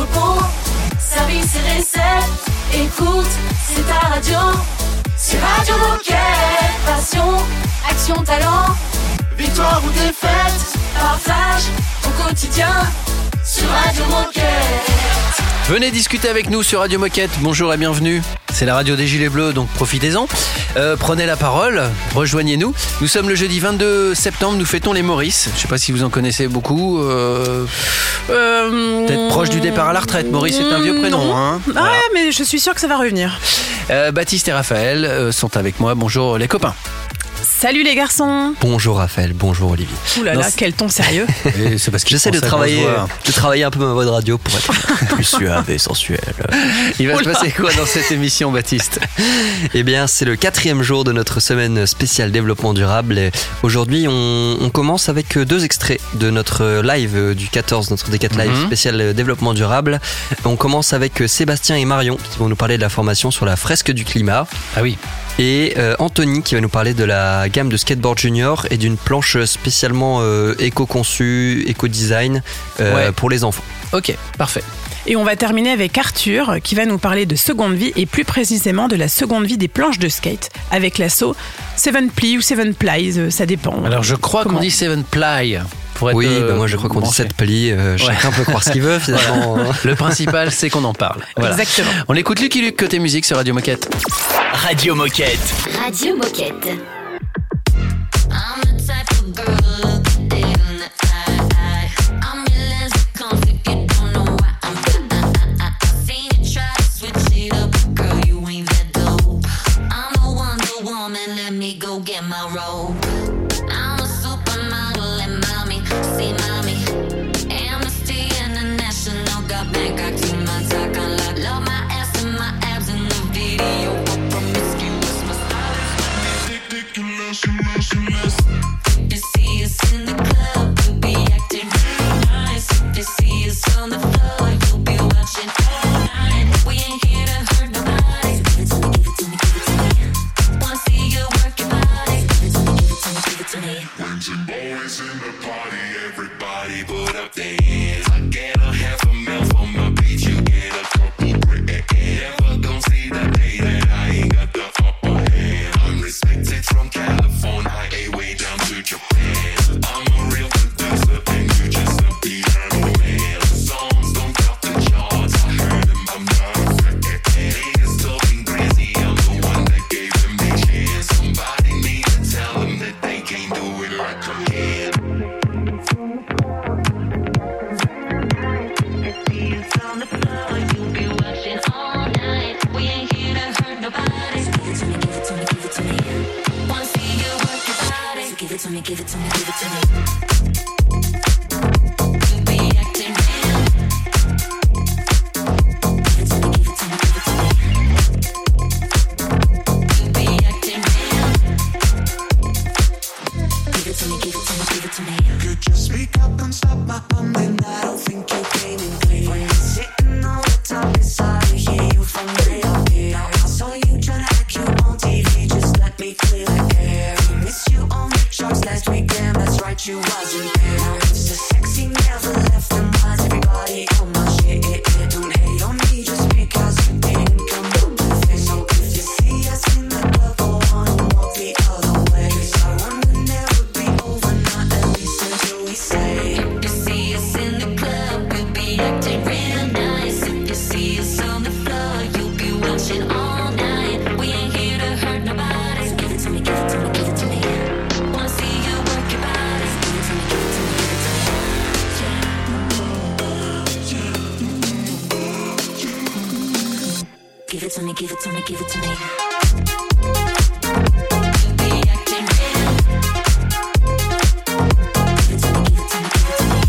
repos, service et recette. Écoute, c'est ta radio. C'est Radio Moquette. Passion, action, talent. Victoire ou défaite, partage au quotidien sur Radio Moquette. Venez discuter avec nous sur Radio Moquette. Bonjour et bienvenue. C'est la radio des Gilets Bleus, donc profitez-en. Prenez la parole, rejoignez-nous. Nous sommes le jeudi 22 septembre, nous fêtons les Maurice. Je ne sais pas si vous en connaissez beaucoup. Peut-être proche du départ à la retraite. Maurice est un vieux prénom. Hein, voilà. Ouais, mais je suis sûre que ça va revenir. Baptiste et Raphaël sont avec moi. Bonjour les copains. Salut les garçons. Bonjour Raphaël, bonjour Olivier. Ouh là là, quel ton sérieux. Et c'est parce que j'essaie de travailler un peu ma voix de radio pour être plus suave et sensuelle. Il va se passer quoi dans cette émission, Baptiste ? Eh bien, c'est le 4e jour de notre semaine spéciale développement durable. Et aujourd'hui, on commence avec 2 extraits de notre live du 14, notre D4 Live spécial développement durable. On commence avec Sébastien et Marion qui vont nous parler de la formation sur la fresque du climat. Ah oui. Et Anthony qui va nous parler de la gamme de skateboard junior et d'une planche spécialement éco-conçue, éco-design pour les enfants. Ok, parfait. Et on va terminer avec Arthur qui va nous parler de seconde vie et plus précisément de la seconde vie des planches de skate avec l'assaut 7 Ply ou 7 Plies, ça dépend. Alors je crois qu'on dit 7 Ply. Oui, moi je crois qu'on dit 7 plis, chacun peut croire ce qu'il veut finalement. Voilà. Le principal c'est qu'on en parle. Voilà. Exactement. On écoute Lucky Luke côté musique sur Radio Moquette. Radio Moquette. Radio Moquette. I'm the type of girl who look at dead in the eye. I'm your lens conflict, you don't know why I'm I seen you try to switch it up, girl, you ain't that dope. I'm a Wonder Woman, let me go get my robe. I'm a supermodel and mommy, see mommy. Amnesty International got Bangkok to my talk on lock. Love my ass and my abs in the video. Promiscuous, my style is ridiculous. If they see us in the club, we'll be acting real nice. If they see us on the floor, you'll be watching all night. We ain't here to hurt nobody. Give it to me, give it to me, give it to me. Wanna see you work your body. Give it to me, give it to me, give it to me. When some boys in the party, everybody put up their hands. I get a half a mil for my beat, you get a couple grand. Never gon' see the day that I ain't got the upper hand. I'm respected from California, way down to Japan. I'm a real producer and you just a piano man. The songs don't top the charts, I heard them, I'm not a fan. Niggas talking crazy, I'm the one that gave them the chance. Somebody need to tell them that they can't do it like I can. On the floor, you'll be watching all night. We ain't here to hurt nobody. Give it to me, give it to me, give it to me. Wanna see you work your body. Give it to me, give it to me, give it to me. You'll be acting real. Give it to me, give it to me, give it to me. You'll be acting real. Give it to me, give it to me, give it to me. Could you speak up and stop my bumming? I don't think you're gaming clear. When you're sitting on the top, it's hard to hear you from way up here. I saw you trying to act cute on TV, just let me clear the air. We missed you on the charts last weekend, that's right, you wasn't there. Now it's the sexy never left and why's everybody on my shit? Don't hate on me just because you didn't come up with it. So if you see us in the club, go on and walk the other way. 'Cause I wonder never be over, not at least until we say. If you see us in the club, we'll be acting real nice. If you see us on the floor, you'll be watching all night. We ain't here to hurt nobody. Give it to me, give it to me, give it to me. Wanna see you work your body. Give it to me, give it to me, give it to me. Give it to me, give it to me, give it to me. You'll be acting real. Give it to me, give it to me, give it to me.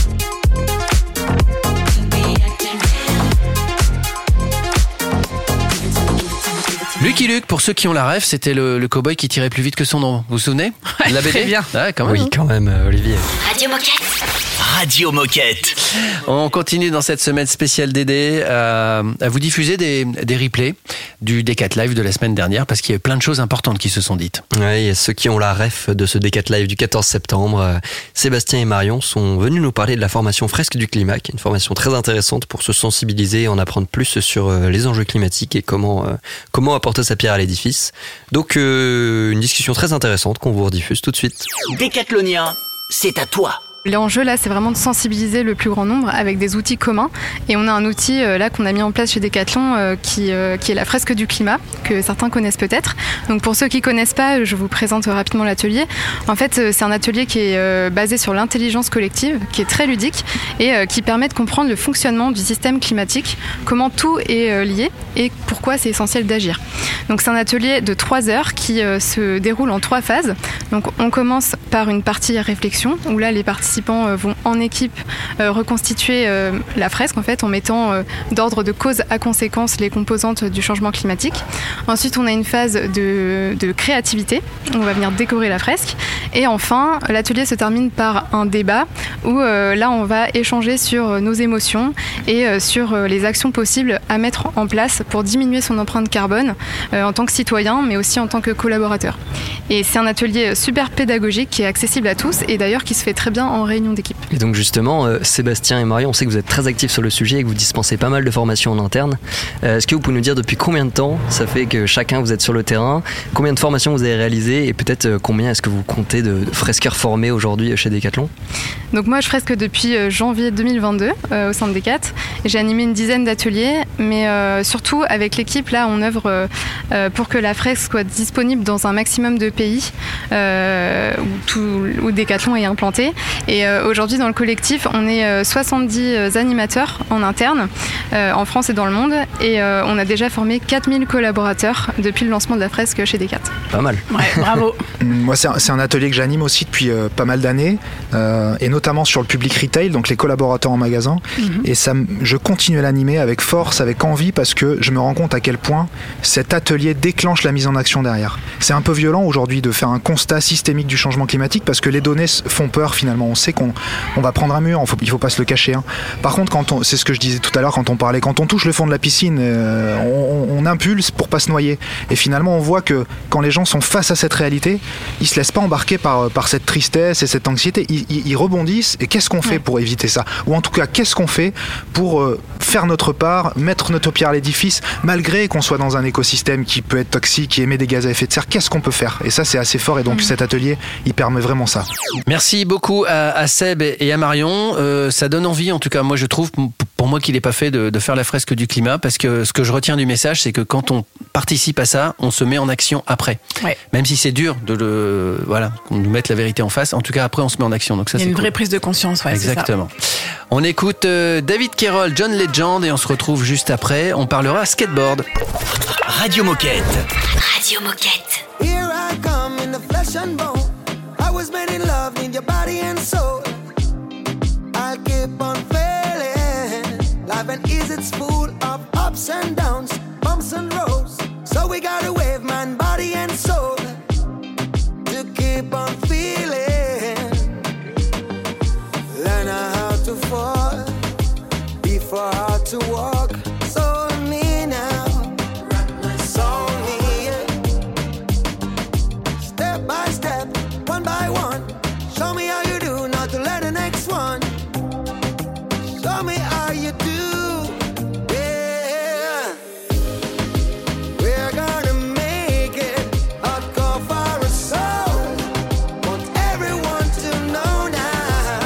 You'll be acting real. Give it to me, give it to me, give it to me. Lucky Luke, pour ceux qui ont la ref, c'était le cow-boy qui tirait plus vite que son ombre. Vous vous souvenez de la BD? Très bien. Ouais, quand même. Oui, quand même, Olivier. Radio Moquette. Radio Moquette. On continue dans cette semaine spéciale DD à vous diffuser des replays du D4 Live de la semaine dernière parce qu'il y a plein de choses importantes qui se sont dites. Ouais, et ceux qui ont la ref de ce D4 Live du 14 septembre, Sébastien et Marion sont venus nous parler de la formation Fresque du climat, qui est une formation très intéressante pour se sensibiliser et en apprendre plus sur les enjeux climatiques et comment apporter sa pierre à l'édifice. Donc une discussion très intéressante qu'on vous rediffuse tout de suite. Décathlonien, c'est à toi. L'enjeu là, c'est vraiment de sensibiliser le plus grand nombre avec des outils communs. Et on a un outil là qu'on a mis en place chez Decathlon qui est la fresque du climat, que certains connaissent peut-être. Donc pour ceux qui connaissent pas, je vous présente rapidement l'atelier. En fait, c'est un atelier qui est basé sur l'intelligence collective, qui est très ludique et qui permet de comprendre le fonctionnement du système climatique, comment tout est lié et pourquoi c'est essentiel d'agir. Donc c'est un atelier de 3 heures qui se déroule en 3 phases. Donc on commence par une partie réflexion où là les participants vont en équipe reconstituer la fresque en fait en mettant d'ordre de cause à conséquence les composantes du changement climatique. Ensuite on a une phase de créativité où on va venir décorer la fresque et enfin l'atelier se termine par un débat où là on va échanger sur nos émotions et sur les actions possibles à mettre en place pour diminuer son empreinte carbone en tant que citoyen mais aussi en tant que collaborateur. Et c'est un atelier super pédagogique qui est accessible à tous et d'ailleurs qui se fait très bien en réunion d'équipe. Et donc justement, Sébastien et Marion, on sait que vous êtes très actifs sur le sujet et que vous dispensez pas mal de formations en interne. Est-ce que vous pouvez nous dire depuis combien de temps ça fait que chacun vous êtes sur le terrain, combien de formations vous avez réalisées et peut-être combien est-ce que vous comptez de fresqueurs formés aujourd'hui chez Decathlon? Donc moi je fresque depuis janvier 2022 au sein de Decat. J'ai animé une dizaine d'ateliers mais surtout avec l'équipe là on œuvre pour que la fresque soit disponible dans un maximum de pays où Decathlon est implanté. Et aujourd'hui dans le collectif on est 70 animateurs en interne en France et dans le monde et on a déjà formé 4000 collaborateurs depuis le lancement de la fresque chez Decat. Pas mal. Ouais, bravo. Moi c'est un atelier que j'anime aussi depuis pas mal d'années et notamment sur le public retail, donc les collaborateurs en magasin. Et je continue à l'animer avec force, avec envie parce que je me rends compte à quel point cet atelier déclenche la mise en action derrière. C'est un peu violent aujourd'hui de faire un constat systémique du changement climatique parce que les données font peur finalement. On sait qu'on va prendre un mur, il faut pas se le cacher. Hein. Par contre, c'est ce que je disais tout à l'heure quand on touche le fond de la piscine, on impulse pour pas se noyer. Et finalement, on voit que quand les gens sont face à cette réalité, ils se laissent pas embarquer par cette tristesse et cette anxiété. Ils rebondissent. Et qu'est-ce qu'on fait pour éviter ça? Ou en tout cas, qu'est-ce qu'on fait pour faire notre part, mettre notre pierre à l'édifice, malgré qu'on soit dans un écosystème qui peut être toxique, qui émet des gaz à effet de serre? Qu'est-ce qu'on peut faire? Et ça, c'est assez fort. Et donc, cet atelier, il permet vraiment ça. Merci beaucoup à Seb et à Marion. Ça donne envie, en tout cas, moi je trouve, pour moi qui l'ai pas fait, de faire la fresque du climat, parce que ce que je retiens du message, c'est que quand on participe à ça, on se met en action après. Ouais. Même si c'est dur qu'on nous mette la vérité en face, en tout cas après on se met en action. Donc ça, il y a une vraie prise de conscience. Ouais, exactement. On écoute David Kerrol, John Legend, et on se retrouve juste après. On parlera skateboard. Radio Moquette. Radio Moquette. Here I come in the flesh and bone. I was made in love, need your body and soul. I'll keep on failing. Life and ease, it's full of ups and downs, bumps and roads. So we gotta wave man, body and soul to keep on feeling. Learn how to fall before how to walk. So me now, so me, step by step, one by one. Show me how you do, not to let the next one. Show me how you do, yeah. We're gonna make it, a call for a soul. Want everyone to know now.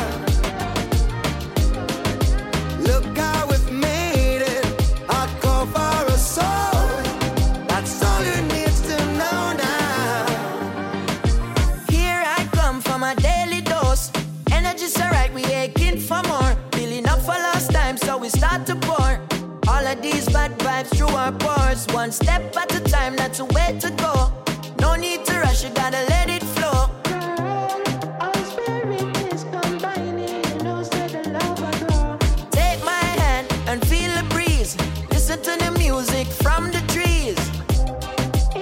Look how we've made it, a call for a soul. That's all you need to know now. Here I come for my daily dose. Energy's alright, we aching for more. Feeling up for last time, so we start to pour. All of these bad vibes through our pores. One step at a time, not a way to go. No need to rush, you gotta let it flow. Take my hand and feel the breeze. Listen to the music from the trees.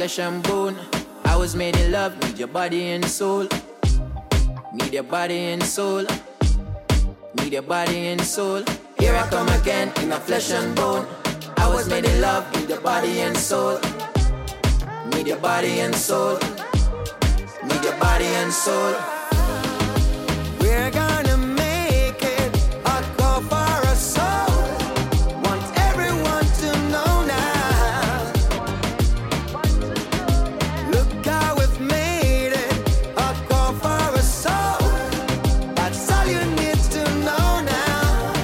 flesh and bone. I was made in love, need your body and soul. Need your body and soul. Need your body and soul. Here I come again in a flesh and bone. I was made in love, need your body and soul. Need your body and soul. Need your body and soul. We're gonna make it a call for a soul. Want everyone to know now. Look how we've made it a call for a soul. That's all you need to know now.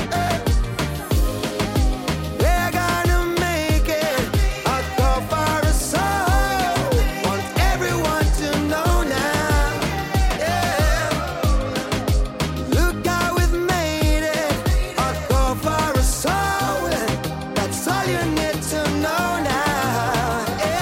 We're gonna make it a call for a soul. Want everyone to know now. Yeah. Look how we've made it a call for a soul. That's all you need to know now.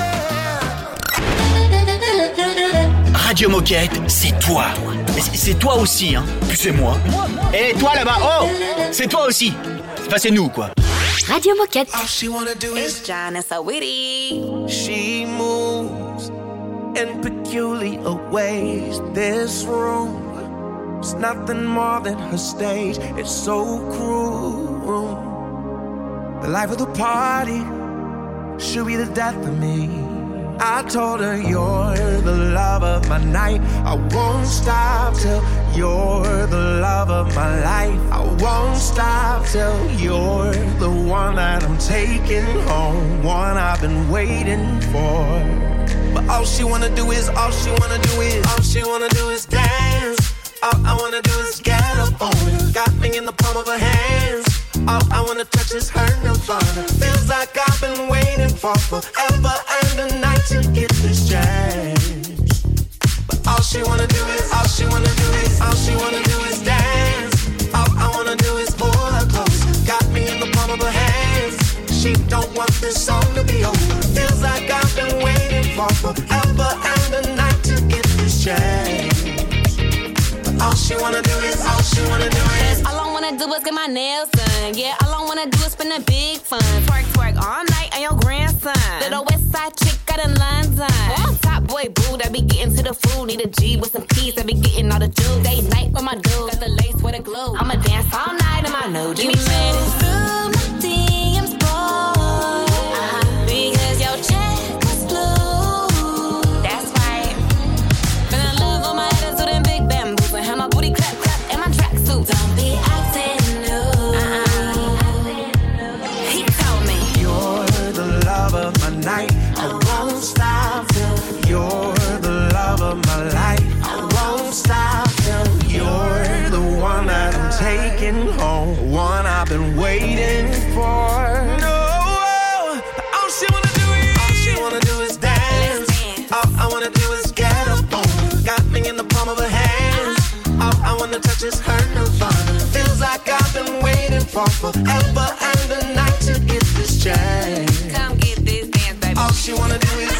Yeah. Radio Moquette, c'est toi. Mais c'est toi aussi, hein. Puis c'est moi. Et toi là-bas, oh, c'est toi aussi. Enfin, c'est nous, quoi. Radio Moquette. All she wanna do is John is so witty. she moves in peculiar ways. This room is nothing more than her stage. It's so cruel. The life of the party should be the death of me. I told her you're the love of my night. I won't stop till you're the love of my life. I won't stop till you're the one that I'm taking home, one I've been waiting for. But all she wanna do is dance. All I wanna do is get up on her. Got me in the palm of her hands. All I wanna touch is her nirvana. Feels like I've been waiting for forever and a night to get this chance. But all she wanna do is dance. All I wanna do is pull her close. Got me in the palm of her hands. She don't want this song to be over. Feels like I've been waiting for forever and a night to get this chance. All she wanna do is All I wanna do is get my nails done. Yeah, all I wanna do is spend a big fun. Twerk, twerk all night on your grandson. Little west side chick got in London. Oh, top boy boo that be getting to the food. Need a G with some keys that be getting all the juice. Day night with my dude, got the lace with a glue. I'ma dance all night in my new Give me minutes through my DMs, boy. Because your check was blue. That's right. Finna love on my attitude and big bamboos. And have my booty clap, clap, and my tracksuit. Don't be acting new. He told me you're the love of my night. I won't stop till you're the love of my life. I won't stop till you're the one that I'm taking home, one I've been waiting for. No, all she wanna do is dance. All I wanna do is get up on her. Got me in the palm of her hands. All I wanna touch is her nirvana. Feels like I've been waiting for forever and a night to get this chance. come get this dance, baby. All she wanna do is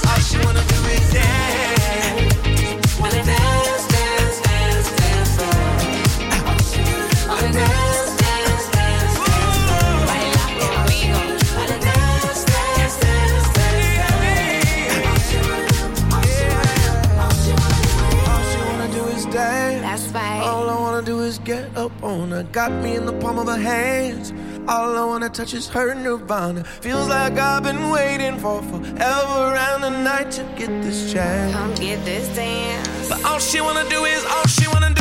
dance. Wanna dance, dance, dance, dance, wanna dance, dance, dance, dance. Wanna dance, dance, dance, dance. All she wanna do is dance. That's right. All I wanna do is get up on her. Got me in the palm of her hands. All I wanna touch is her nirvana. Feels like I've been waiting for forever and a night to get this chance. Come get this dance. But all she wanna do is dance.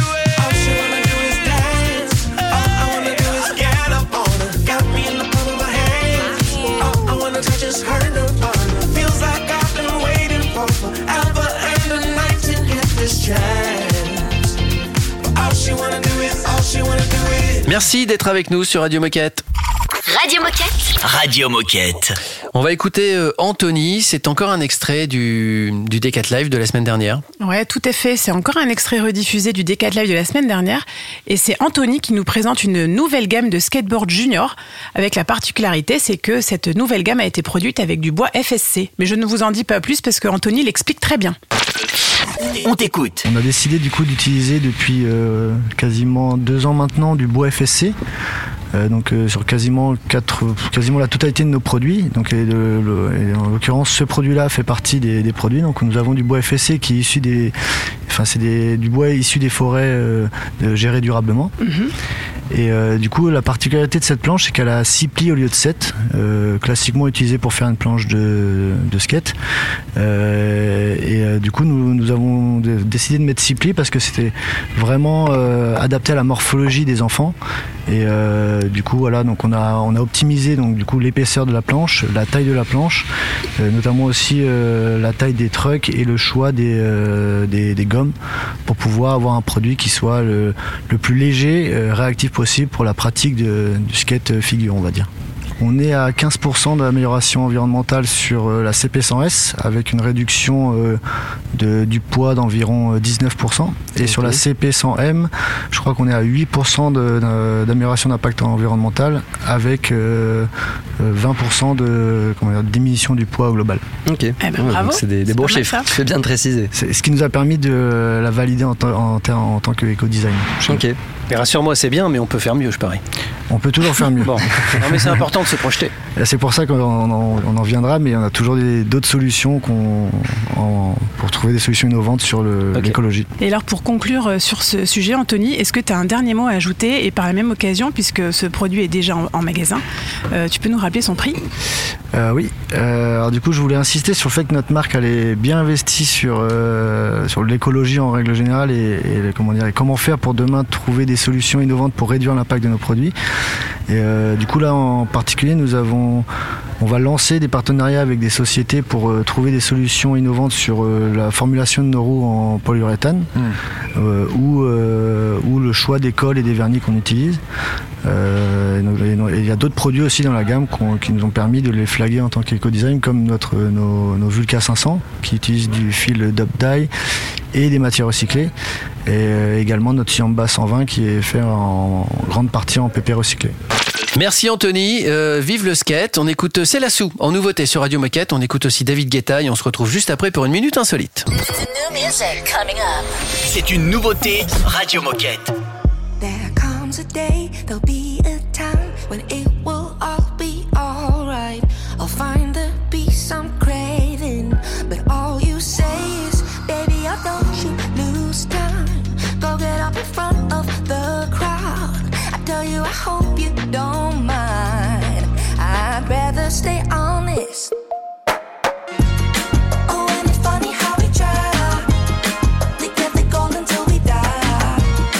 All I wanna do is get up on her. Got me in the palm of her hands. All I wanna touch is her nirvana. Feels like I've been waiting for forever and a night to get this chance. But all she wanna do is Merci d'être avec nous sur Radio Moquette. Radio Moquette. Radio Moquette. On va écouter Anthony, c'est encore un extrait du Decathlon Live de la semaine dernière. Ouais, tout est fait. C'est encore un extrait rediffusé du Decathlon Live de la semaine dernière. Et c'est Anthony qui nous présente une nouvelle gamme de skateboard junior. Avec la particularité, c'est que cette nouvelle gamme a été produite avec du bois FSC. Mais je ne vous en dis pas plus parce que Anthony l'explique très bien. On t'écoute. On a décidé du coup d'utiliser depuis quasiment 2 ans maintenant du bois FSC. sur quasiment la totalité de nos produits. Donc, et en l'occurrence, ce produit-là fait partie des produits. Donc, nous avons du bois FSC qui est issu du bois issu des forêts gérées durablement. Et du coup, la particularité de cette planche, c'est qu'elle a 6 plis au lieu de 7, classiquement utilisée pour faire une planche de skate. Du coup, nous avons décidé de mettre 6 plis parce que c'était vraiment adapté à la morphologie des enfants. Et du coup, voilà, donc on a optimisé donc du coup l'épaisseur de la planche, la taille de la planche, notamment aussi la taille des trucks et le choix des gommes pour pouvoir avoir un produit qui soit le plus léger, réactif possible pour la pratique du skate figure, on va dire. On est à 15% d'amélioration environnementale sur la CP100S avec une réduction du poids d'environ 19%. Et sur la CP100M, je crois qu'on est à 8% d'amélioration d'impact environnemental avec 20% de diminution du poids global. Ok, bravo. C'est des bons chiffres, tu fais bien de préciser. C'est ce qui nous a permis de la valider en tant qu'éco-design. Ok. Mais rassure-moi, c'est bien, mais on peut faire mieux, je parie. On peut toujours faire mieux. Bon, non, mais c'est important de se projeter. Et c'est pour ça qu'on en viendra, mais on a toujours d'autres solutions pour trouver des solutions innovantes sur l'écologie. Et alors pour conclure sur ce sujet, Anthony, est-ce que tu as un dernier mot à ajouter? Et par la même occasion, puisque ce produit est déjà en magasin, tu peux nous rappeler son prix? Oui. Alors du coup, je voulais insister sur le fait que notre marque elle est bien investie sur l'écologie en règle générale et comment faire pour demain trouver des solutions innovantes pour réduire l'impact de nos produits. Et du coup là en particulier, on va lancer des partenariats avec des sociétés pour trouver des solutions innovantes sur la formulation de nos roues en polyuréthane ou le choix des cols et des vernis qu'on utilise. Il y a d'autres produits aussi dans la gamme qui nous ont permis de les flaguer en tant qu'éco-design, comme nos Vulca 500 qui utilisent du fil Dub Dye et des matières recyclées, et également notre Siamba 120 qui est fait en grande partie en PP recyclé. Merci Anthony, vive le skate. On écoute C'est la Sou en nouveauté sur Radio Moquette. On écoute aussi David Guetta et on se retrouve juste après pour une minute insolite. C'est une nouveauté Radio Moquette. There comes a day, there'll be a time when it will all be alright. I'll find the peace I'm craving, but all you say is, baby, oh, don't you lose time. Go get up in front of the crowd. I tell you, I hope you don't mind. I'd rather stay honest. Oh, and it's funny how we try to get the gold until we die.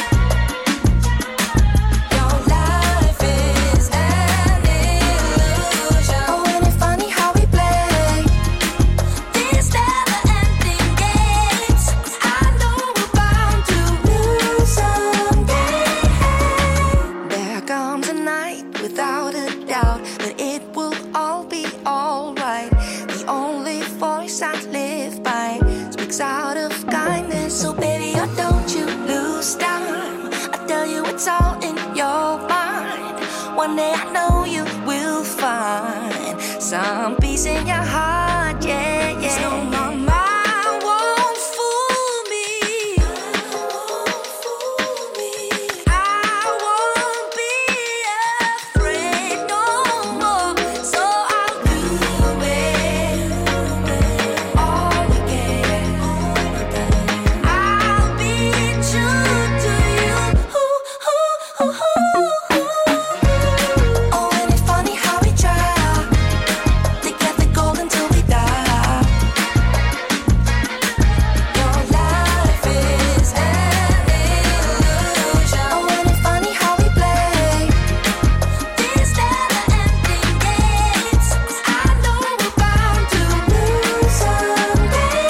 Your life is an illusion. Oh, and it's funny how we play these never-ending games. 'Cause I know we're bound to lose someday. There comes a night without a doubt that it will all be alright. The only voice I live by speaks out of kindness. So baby, oh, don't you lose time. I tell you it's all in your mind. One day I know you will find some peace in your heart, yeah, yeah. So my mind won't fool me. I won't be afraid no more. So I'll do it all again. I'll be true to you. Oh, and it's funny how we try to get the gold until we die. Your life is an illusion. Oh, and it's funny how we play these never-ending games. 'Cause I know we're bound to lose someday.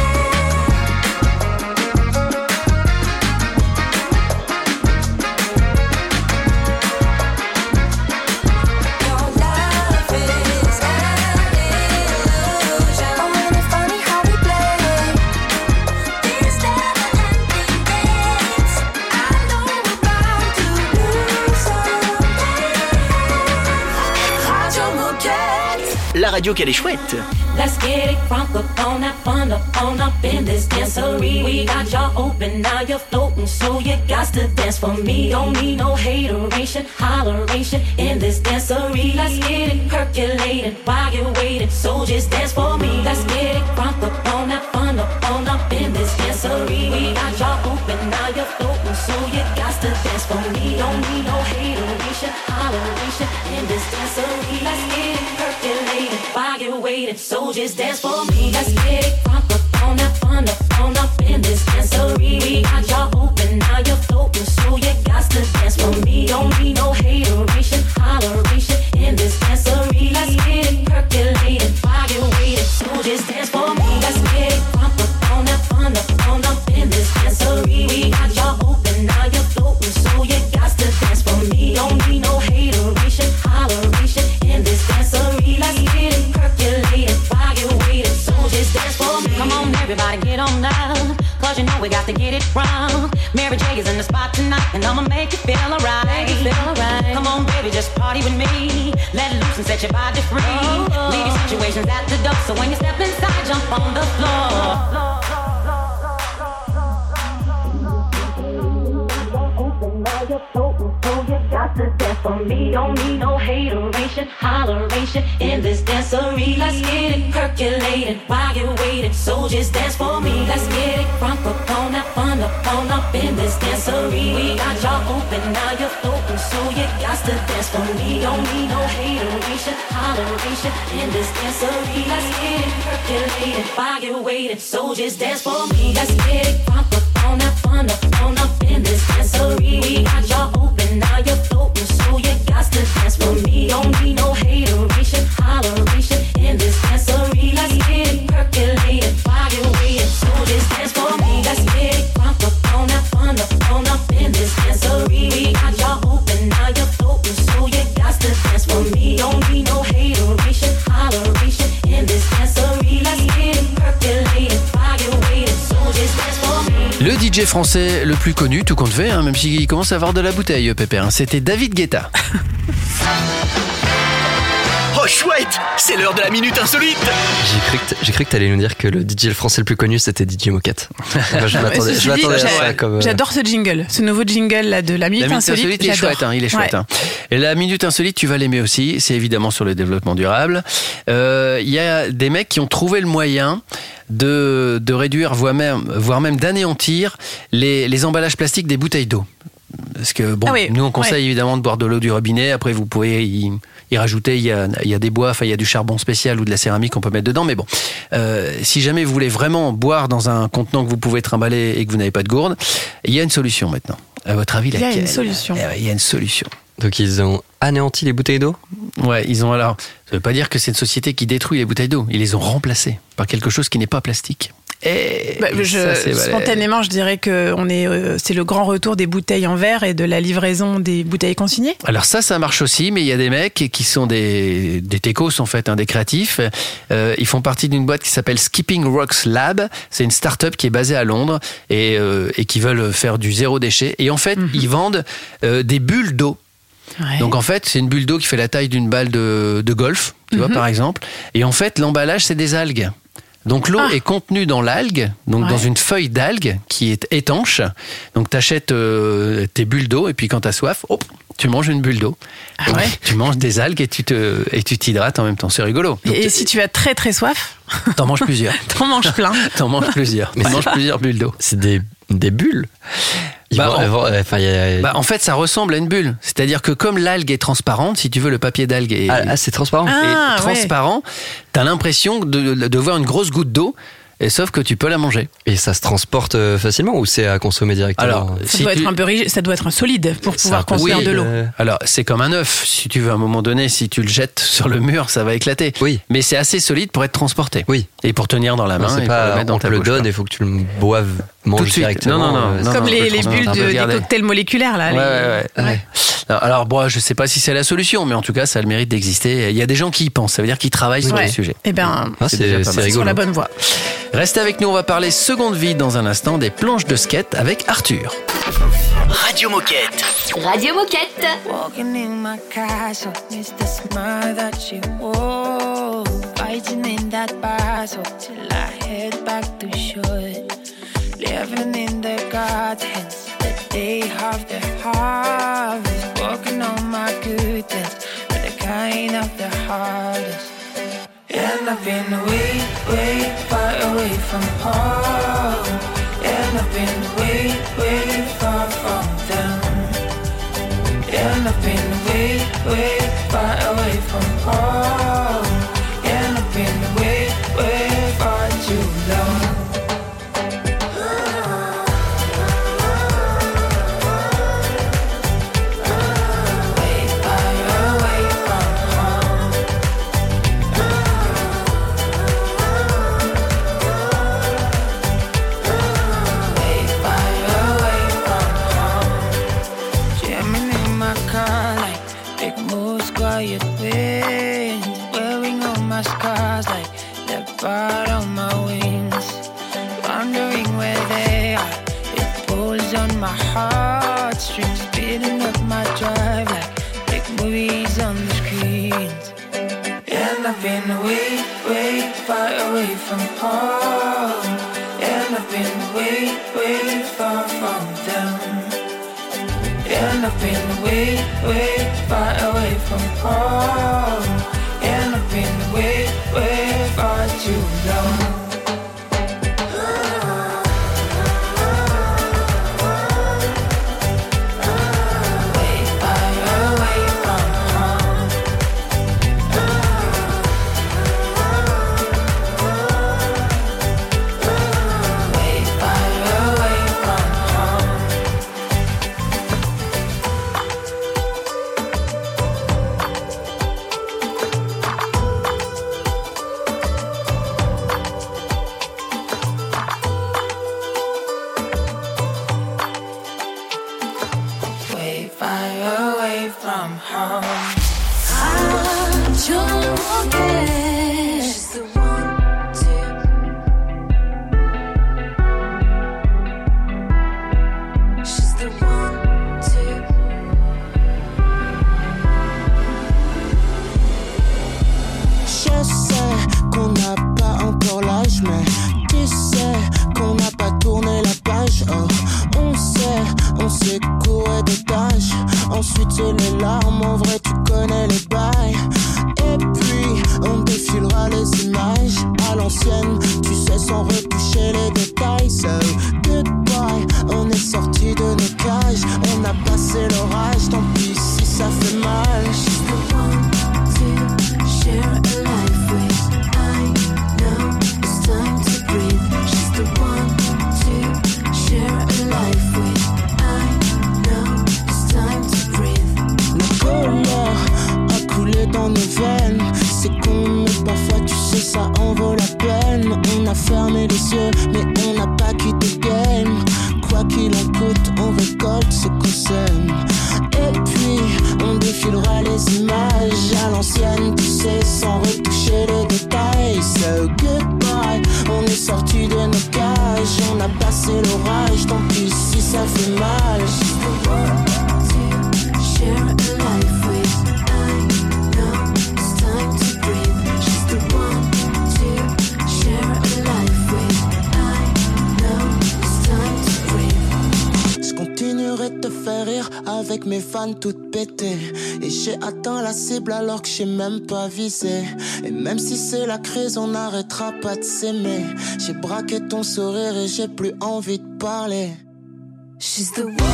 Your life is an illusion. Oh, and it's funny how we play these never-ending games. I know we're bound to lose someday. Radio Moquette. La radio qu'elle est chouette. Let's get it crunk up on up in this dancery. We got y'all open, now you're floating, so you got to dance for me. Don't need no haterade, holleration, holleration in this dancery. Let's get it percolated while you're waiting. So just dance for me. Let's get it crunk up on that fun up in this dancery. We got y'all open, now you're floating, so you got to dance for me. Don't need no hateration, holleration in this dancery. Let's get it percolated while you're waiting. So just dance for me. Let's get it crunk up on that fun up in this dancery. We got y'all open, now you're floating, so you got to dance for me. Don't need no hateration, holleration in this dancery. Let's get it percolated while you're waiting. So just dance for me. Let's get it crunk up on that fun up in this dancery. We got y'all open, now you're floating, so you got to dance for me. Don't need no hateration, holleration in this dancery. Let's get it percolated while you're waiting. So just dance for me. Come on, everybody, get on down, 'cause you know we got to get it wrong. Mary J is in the spot tonight, and I'ma make you feel alright. Come on, baby, just party with me. Let loose and set your body free. Leave your situations at the door, so when you step inside, jump on the floor. To dance for me, don't need no hateration, holleration in this dancery. Let's get it percolated while you're waiting. So just dance for me. Let's get it crunk up on that fun up in this dancery. We got y'all open, now you're floating, so you got to dance for me. Don't need no hateration, holleration in this dancery. Let's get it percolated while you're waiting. So just dance for me. Let's get it crunk up on that fun up in this dancery. We got y'all open, now you're floating, so you got to dance for me. Don't need no hateration, holleration in this dancery. Let's get it percolated while you're waiting. So just dance for me. Let's get it crunk up on that fun up in this dancery. We got y'all open, now you're floating, so you got to dance for me. Don't need no hateration, holleration in this dancery. Let's get it percolated while you're waiting. So just dance for me. Le DJ français le plus connu, tout compte fait, même s'il commence à avoir de la bouteille, Pépère. C'était David Guetta. Oh chouette, c'est l'heure de la minute insolite. J'ai cru que t'allais nous dire que le DJ français le plus connu c'était DJ Moquette. Enfin, je m'attendais à ça comme. J'adore ce jingle, ce nouveau jingle là de la minute insolite. Il est chouette, il est chouette. Hein. Et la minute insolite, tu vas l'aimer aussi. C'est évidemment sur le développement durable. Il y a des mecs qui ont trouvé le moyen de réduire, voire même d'anéantir les emballages plastiques des bouteilles d'eau. Parce que bon, nous on conseille évidemment de boire de l'eau du robinet. Après vous pouvez y rajouter, il y a des bois, il y a du charbon spécial ou de la céramique qu'on peut mettre dedans. Mais bon, si jamais vous voulez vraiment boire dans un contenant que vous pouvez trimballer et que vous n'avez pas de gourde, il y a une solution maintenant. À votre avis, laquelle ? Il y a une solution. Il y a une solution. Donc ils ont anéanti les bouteilles d'eau ? Ouais, ils ont alors. Ça ne veut pas dire que c'est une société qui détruit les bouteilles d'eau. Ils les ont remplacées par quelque chose qui n'est pas plastique. Spontanément, je dirais que c'est le grand retour des bouteilles en verre et de la livraison des bouteilles consignées. Alors ça marche aussi, mais il y a des mecs qui sont des techos en fait, des créatifs. Ils font partie d'une boîte qui s'appelle Skipping Rocks Lab. C'est une start-up qui est basée à Londres et qui veulent faire du zéro déchet. Et en fait, ils vendent des bulles d'eau. Ouais. Donc en fait, c'est une bulle d'eau qui fait la taille d'une balle de golf, tu vois, par exemple. Et en fait, l'emballage, c'est des algues. Donc l'eau est contenue dans l'algue, donc dans une feuille d'algue qui est étanche. Donc t'achètes tes bulles d'eau et puis quand t'as soif, tu manges une bulle d'eau. Donc, tu manges des algues et tu t'hydrates en même temps. C'est rigolo. Donc, et si tu as très très soif, t'en manges plusieurs. T'en manges plein. T'en manges plusieurs. T'en manges plusieurs bulles d'eau. C'est des bulles. En fait, ça ressemble à une bulle. C'est-à-dire que comme l'algue est transparente, si tu veux, le papier d'algue est c'est transparent. Transparent, t'as l'impression de voir une grosse goutte d'eau. Et sauf que tu peux la manger. Et ça se transporte facilement ou c'est à consommer directement ? Alors, ça doit être un solide pour pouvoir construire de l'eau. Alors, c'est comme un œuf. Si tu veux, à un moment donné, si tu le jettes sur le mur, ça va éclater. Oui. Mais c'est assez solide pour être transporté. Oui. Et pour tenir dans la main. C'est et pas, pour le mettre dans ta bouche. On te le donne, il faut que tu le boives, manges directement. Non. Comme les bulles des cocktails moléculaires, là. Ouais. Alors, bon, je sais pas si c'est la solution, mais en tout cas, ça a le mérite d'exister. Il y a des gens qui y pensent. Ça veut dire qu'ils travaillent sur le sujet. Eh ben, c'est sur la bonne voie. Restez avec nous, on va parler seconde vie dans un instant des planches de skate avec Arthur. Radio Moquette. Radio Moquette. Walking in my castle, it's the smile that you wore. Fighting in that battle till I head back to shore. Living in the gardens, the day of the harvest. Walking And I've been way, way far away from home. And I've been way, way far from them. And I've been way, way far away from home. And I've been way, way far too long. Quiet wind, wearing all my scars like leopard on my wings. Wondering where they are, it pulls on my heartstrings, speeding up my drive like big movies on the screens. And I've been way, way far away from home. And I've been way, way far from them. And I've been way, way far away from home. And I've been way, way far too long. Toute pétée et j'ai atteint la cible alors que j'ai même pas visé. Et même si c'est la crise, on n'arrêtera pas de s'aimer. J'ai braqué ton sourire et j'ai plus envie de parler. She's the one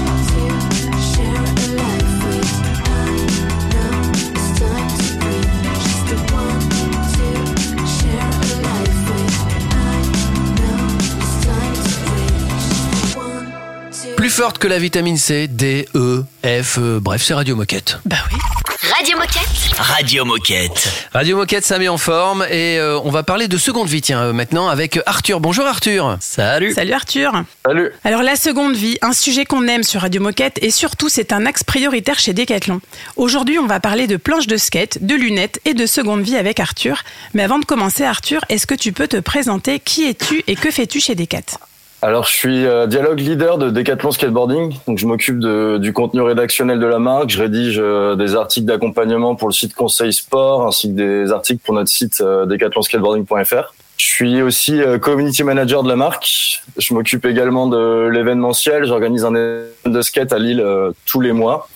to share a life with. I know it's time to breathe. She's the one to share a life with. I know it's time to breathe. She's the one to. Plus forte que la vitamine C, D, E, F, bref, c'est Radio Moquette. Bah oui. Radio Moquette. Radio Moquette. Radio Moquette, ça met en forme et on va parler de seconde vie, tiens, maintenant avec Arthur. Bonjour Arthur. Salut. Salut Arthur. Salut. Alors la seconde vie, un sujet qu'on aime sur Radio Moquette et surtout c'est un axe prioritaire chez Decathlon. Aujourd'hui on va parler de planches de skate, de lunettes et de seconde vie avec Arthur. Mais avant de commencer Arthur, est-ce que tu peux te présenter? Qui es-tu et que fais-tu chez Decat? Alors, je suis dialogue leader de Decathlon Skateboarding. Donc, je m'occupe du contenu rédactionnel de la marque. Je rédige des articles d'accompagnement pour le site Conseil Sport, ainsi que des articles pour notre site decathlonskateboarding.fr. Je suis aussi community manager de la marque. Je m'occupe également de l'événementiel. J'organise un événement de skate à Lille tous les mois.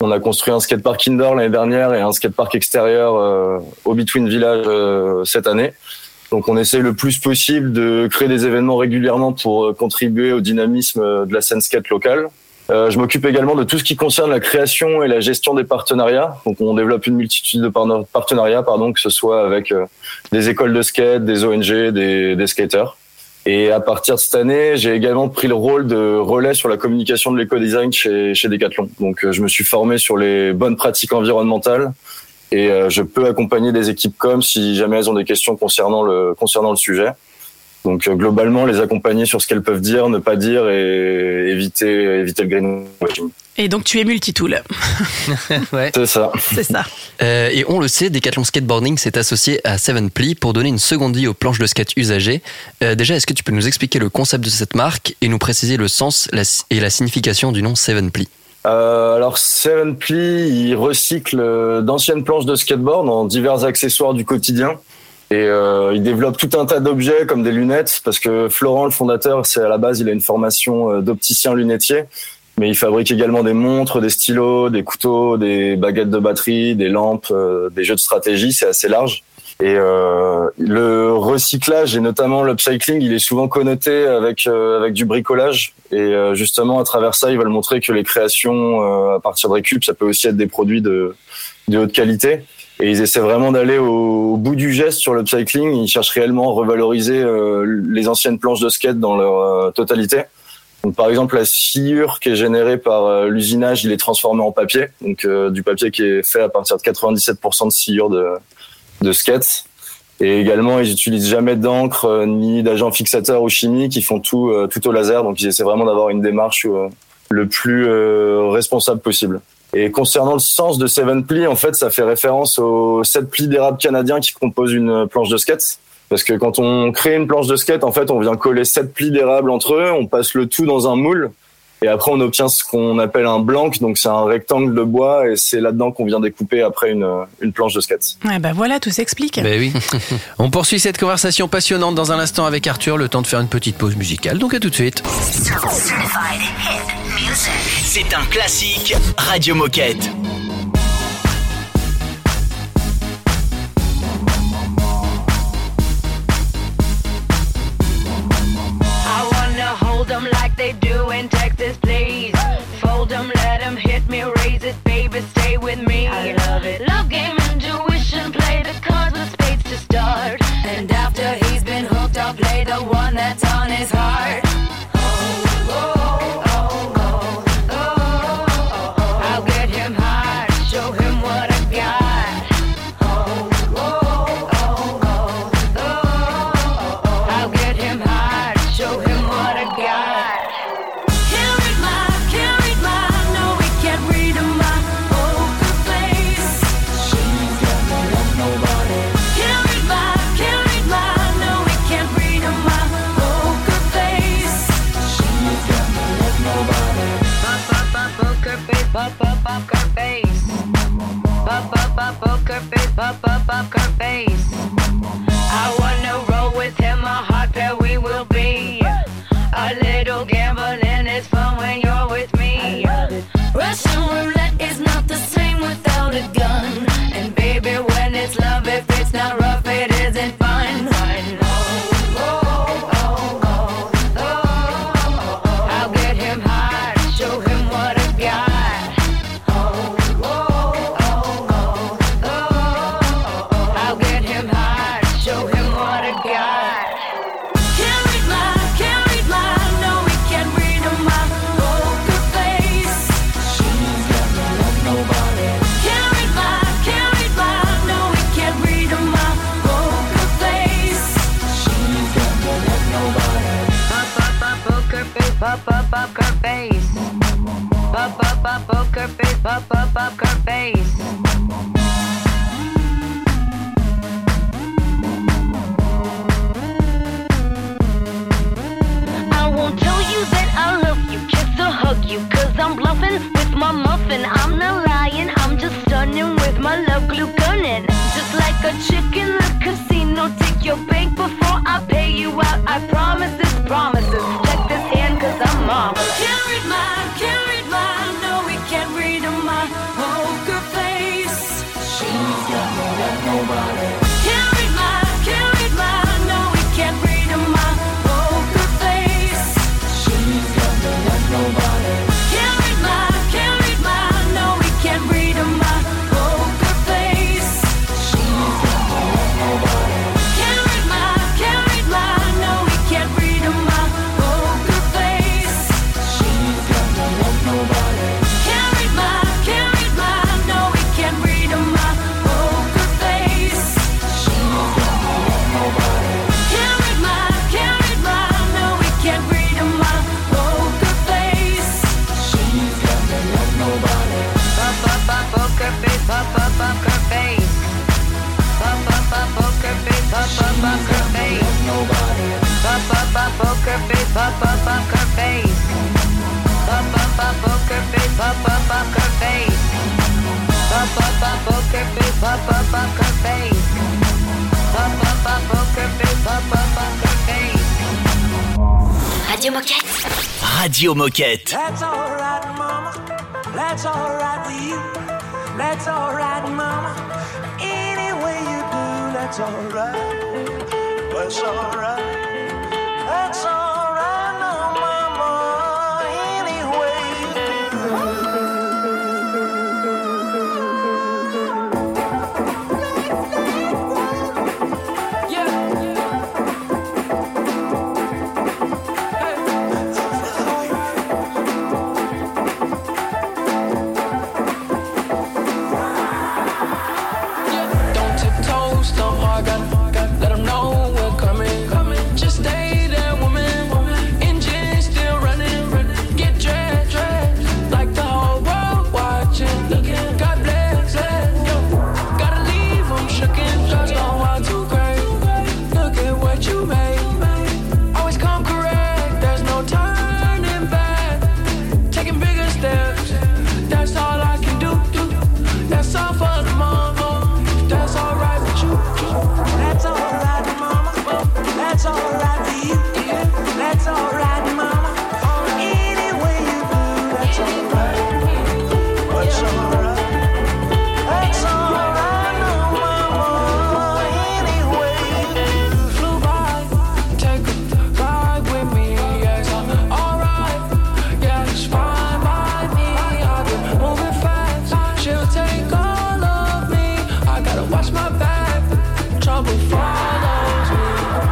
On a construit un skatepark indoor l'année dernière et un skatepark extérieur au Between Village cette année. Donc on essaye le plus possible de créer des événements régulièrement pour contribuer au dynamisme de la scène skate locale. Je m'occupe également de tout ce qui concerne la création et la gestion des partenariats. Donc on développe une multitude de partenariats, que ce soit avec des écoles de skate, des ONG, des skaters. Et à partir de cette année, j'ai également pris le rôle de relais sur la communication de l'éco-design chez Decathlon. Donc je me suis formé sur les bonnes pratiques environnementales et je peux accompagner des équipes com si jamais elles ont des questions concernant le sujet. Donc globalement, les accompagner sur ce qu'elles peuvent dire, ne pas dire et éviter le greenwashing. Et donc tu es multitool. Ouais. C'est ça. C'est ça. Et on le sait, Decathlon Skateboarding s'est associé à 7ply pour donner une seconde vie aux planches de skate usagées. Déjà, est-ce que tu peux nous expliquer le concept de cette marque et nous préciser le sens et la signification du nom 7ply? Alors 7ply, il recycle d'anciennes planches de skateboard en divers accessoires du quotidien. Et il développe tout un tas d'objets comme des lunettes, parce que Florent, le fondateur, c'est à la base, il a une formation d'opticien lunetier, mais il fabrique également des montres, des stylos, des couteaux, des baguettes de batterie, des lampes, des jeux de stratégie, c'est assez large. Et le recyclage et notamment l'upcycling, il est souvent connoté avec du bricolage. Et justement, à travers ça, ils veulent montrer que les créations à partir de récup, ça peut aussi être des produits de haute qualité. Et ils essaient vraiment d'aller au bout du geste sur l'upcycling. Ils cherchent réellement à revaloriser les anciennes planches de skate dans leur totalité. Donc, par exemple, la sciure qui est générée par l'usinage, il est transformé en papier. Donc, du papier qui est fait à partir de 97% de sciure de skate. Et également, ils utilisent jamais d'encre ni d'agents fixateurs ou chimiques. Ils font tout au laser. Donc, ils essaient vraiment d'avoir une démarche le plus responsable possible. Et concernant le sens de 7ply, en fait, ça fait référence aux 7 plis d'érable canadiens qui composent une planche de skate. Parce que quand on crée une planche de skate, en fait, on vient coller 7 plis d'érable entre eux, on passe le tout dans un moule, et après on obtient ce qu'on appelle un blank, donc c'est un rectangle de bois, et c'est là-dedans qu'on vient découper après une planche de skate. Ouais, bah voilà, tout s'explique. Ben oui. On poursuit cette conversation passionnante dans un instant avec Arthur, le temps de faire une petite pause musicale, donc à tout de suite. C'est un classique Radio Moquette. I wanna hold them like they do in Texas, please. Fold them, let them hit me, raise it, baby, stay with me. I love it. Love game, intuition, play the cards with spades to start. And after he's been hooked, I'll play the one that's on his heart. I'll get him hard, show him what I got. I'll get him hard, show him what I got. Can't read my, no, we can't read my poker face. She's got no love, nobody. Can't read my, no, we can't read my poker face. She's got no love, nobody. Poker face, poker face. Poker face, poker face. I wanna roll with him, a hot pair we will be. A little gambling is fun when you're with me. Russian roulette is not the same without a gun. And baby, when it's love, if it's not rough, it isn't fun. I'll get him hard, show him what I got. I'll get him hard, show him what I got. Can't read my, no, we can't read my poker face. She's got no love, nobody. Can't read my, no, we can't read my poker face. She's got no love, nobody. Poker face, poker face. Poker face, poker face. I won't tell you that I love you, kiss or hug you, cause I'm bluffing with my muffin. I'm not lying, I'm just stunning with my love glue gunning. Just like a chick in the casino, take your bank before I pay you out. I promise this promises. Check this hand cause I'm marvelous. Can't read my, no, we can't read my poker face. Poker face, poker face. Poker face, poker face. Poker face, poker face. Poker face, poker face. Radio Moquette. Radio Moquette. That's alright, mama. That's alright with you. That's alright, mama. Any way you do, that's alright. That's alright. That's alright, no, mama. Any way you Don't tiptoe, stomp hard, gotta let 'em know we're coming. Just stay there, woman. Engine still running. Get dressed, like the whole world watching. God bless, yo. Gotta leave 'em shookin', just don't want to cry. Look at what you made. Always come correct, there's no turning back. Taking bigger steps, that's all I can do. That's all for the moment. That's alright with you. That's alright, mama. That's alright with you. That's alright, mama. Any way you do, that's alright. That's alright. That's alright, no, mama. Any way you do. Flew by, take a ride with me. Yes, I'm alright. Yeah, it's fine by me. I've been moving fast. She'll take all of me. I gotta watch my back. Trouble follows me.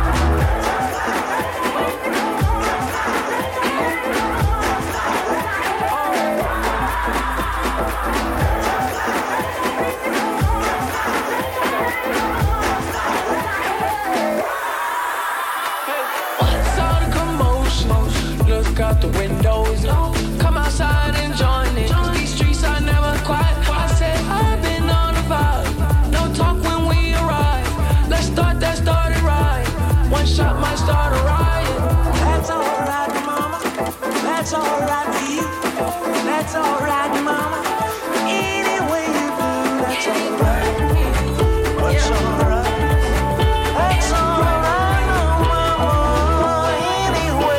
What's all the commotion? Look out the windows. Come outside and join it. These streets are never quiet. I said I've been on the vibe. No talk when we arrive. Let's start that started right. One shot might start a riot. That's alright, mama. That's alright with you. That's alright, mama. Any way you do, that's alright. That's alright. That's alright, no, mama. Any way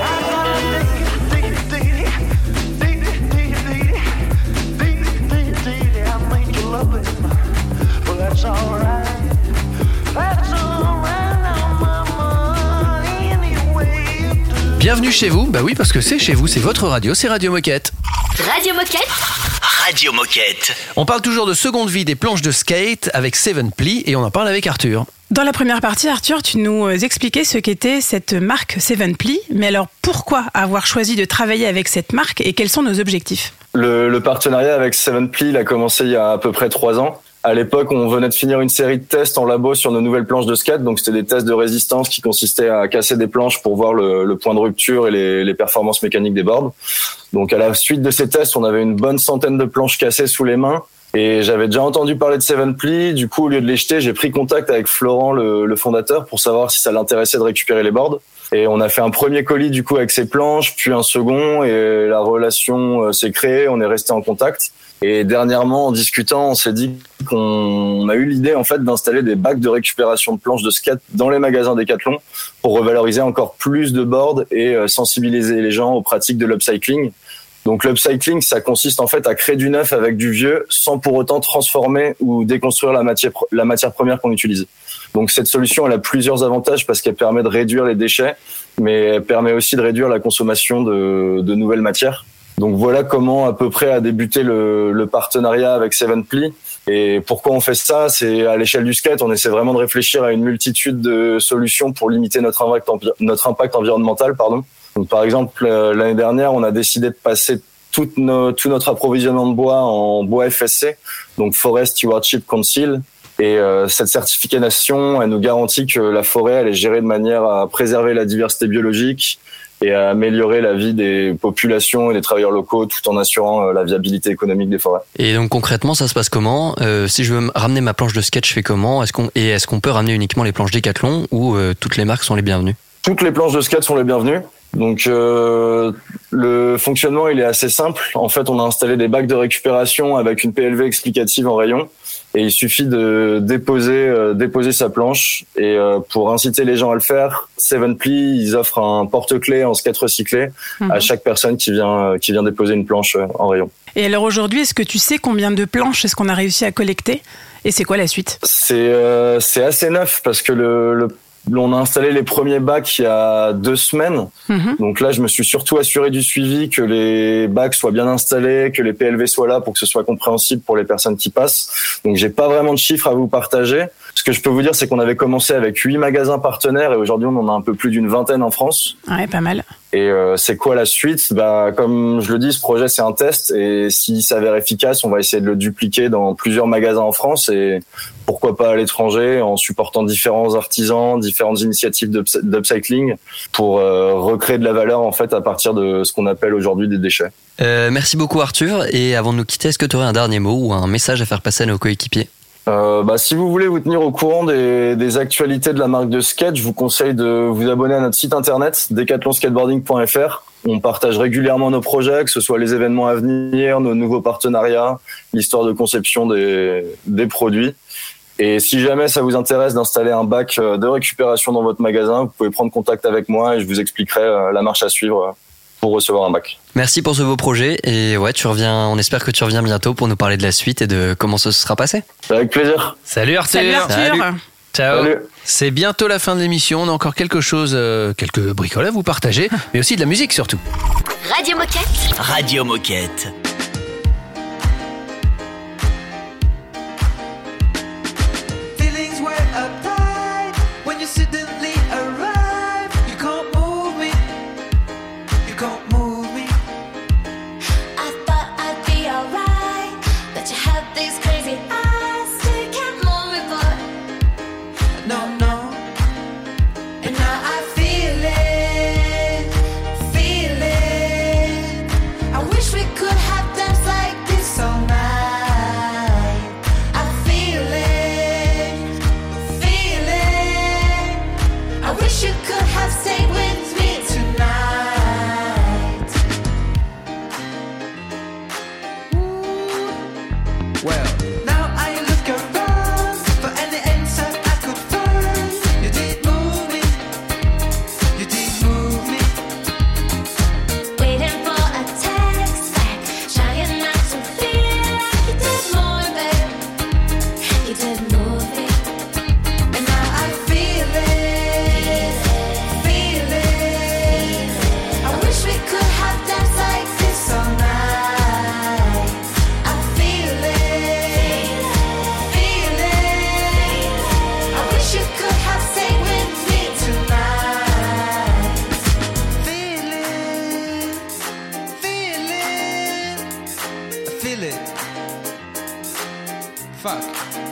I make you love it. Well, that's alright. That's alright, no, mama. Any way you do. Bienvenue chez vous. Bah oui, parce que c'est chez vous, c'est votre radio, c'est Radio Moquette. Radio Moquette. Radio Moquette. On parle toujours de seconde vie des planches de skate avec Seven Ply et on en parle avec Arthur. Dans la première partie, Arthur, tu nous expliquais ce qu'était cette marque Seven Ply. Mais alors, pourquoi avoir choisi de travailler avec cette marque et quels sont nos objectifs ? Le partenariat avec Seven Ply, il a commencé il y a à peu près 3 ans. À l'époque, on venait de finir une série de tests en labo sur nos nouvelles planches de skate. Donc, c'était des tests de résistance qui consistaient à casser des planches pour voir le point de rupture et les performances mécaniques des boards. Donc, à la suite de ces tests, on avait une bonne centaine de planches cassées sous les mains. Et j'avais déjà entendu parler de Seven Ply. Du coup, au lieu de les jeter, j'ai pris contact avec Florent, le fondateur, pour savoir si ça l'intéressait de récupérer les boards. Et on a fait un premier colis, du coup, avec ces planches, puis un second. Et la relation s'est créée. On est resté en contact. Et dernièrement, en discutant, on s'est dit qu'on a eu l'idée en fait d'installer des bacs de récupération de planches de skate dans les magasins Decathlon pour revaloriser encore plus de boards et sensibiliser les gens aux pratiques de l'upcycling. Donc l'upcycling, ça consiste en fait à créer du neuf avec du vieux sans pour autant transformer ou déconstruire la matière première qu'on utilise. Donc cette solution, elle a plusieurs avantages parce qu'elle permet de réduire les déchets, mais elle permet aussi de réduire la consommation de nouvelles matières. Donc voilà comment à peu près a débuté le partenariat avec Seven Ply. Et pourquoi on fait ça ? C'est à l'échelle du skate, on essaie vraiment de réfléchir à une multitude de solutions pour limiter notre impact environnemental. Donc par exemple, l'année dernière, on a décidé de passer tout notre approvisionnement de bois en bois FSC, donc Forest Stewardship Council. Et cette certification, elle nous garantit que la forêt, elle est gérée de manière à préserver la diversité biologique et à améliorer la vie des populations et des travailleurs locaux tout en assurant la viabilité économique des forêts. Et donc concrètement, ça se passe comment ? Si je veux ramener ma planche de skate, je fais comment ? Est-ce qu'on peut ramener uniquement les planches Décathlon ou toutes les marques sont les bienvenues ? Toutes les planches de skate sont les bienvenues. Donc le fonctionnement il est assez simple. En fait, on a installé des bacs de récupération avec une PLV explicative en rayon et il suffit de déposer sa planche. Et pour inciter les gens à le faire, Seven Ply, ils offrent un porte-clés en skate recyclé à chaque personne qui vient déposer une planche en rayon. Et alors aujourd'hui, est-ce que tu sais combien de planches est-ce qu'on a réussi à collecter ? Et c'est quoi la suite ? C'est assez neuf parce que on a installé les premiers bacs il y a 2 semaines. Donc là, je me suis surtout assuré du suivi, que les bacs soient bien installés, que les PLV soient là pour que ce soit compréhensible pour les personnes qui passent. Donc j'ai pas vraiment de chiffres à vous partager. Ce que je peux vous dire, c'est qu'on avait commencé avec 8 magasins partenaires et aujourd'hui, on en a un peu plus d'une vingtaine en France. Ouais, pas mal. Et c'est quoi la suite ? Comme je le dis, ce projet, c'est un test et s'il s'avère efficace, on va essayer de le dupliquer dans plusieurs magasins en France et pourquoi pas à l'étranger en supportant différents artisans, différentes initiatives d'upcycling pour recréer de la valeur en fait à partir de ce qu'on appelle aujourd'hui des déchets. Merci beaucoup Arthur. Et avant de nous quitter, est-ce que tu aurais un dernier mot ou un message à faire passer à nos coéquipiers ? Si vous voulez vous tenir au courant des actualités de la marque de skate, je vous conseille de vous abonner à notre site internet decathlonskateboarding.fr. On partage régulièrement nos projets, que ce soit les événements à venir, nos nouveaux partenariats, l'histoire de conception des produits. Et si jamais ça vous intéresse d'installer un bac de récupération dans votre magasin, vous pouvez prendre contact avec moi et je vous expliquerai la marche à suivre pour recevoir un bac. Merci pour ce beau projet et on espère que tu reviens bientôt pour nous parler de la suite et de comment ça se sera passé. Avec plaisir. Salut Arthur. Salut. Ciao. Salut. C'est bientôt la fin de l'émission. On a encore quelque chose, quelques bricoles à vous partager, mais aussi de la musique surtout. Radio Moquette. Radio Moquette. Feelings were uptight when you suddenly arrive. You can't move me. You can't move me. I thought I'd be alright, but you have these crazy eyes, so you can't move me, boy. No, no. And now I feel it. I wish we could have danced like this all night. I feel it. I wish you could have stayed with me tonight. Well, now I look around for any answer I could find. You did move me. You did move me. Waiting for a text back, trying not to feel like you did more, babe. You did move me. And now I feel it. I wish we could have danced like this all night. I feel it. I wish you could have stayed with me tonight. I feel it. Fuck.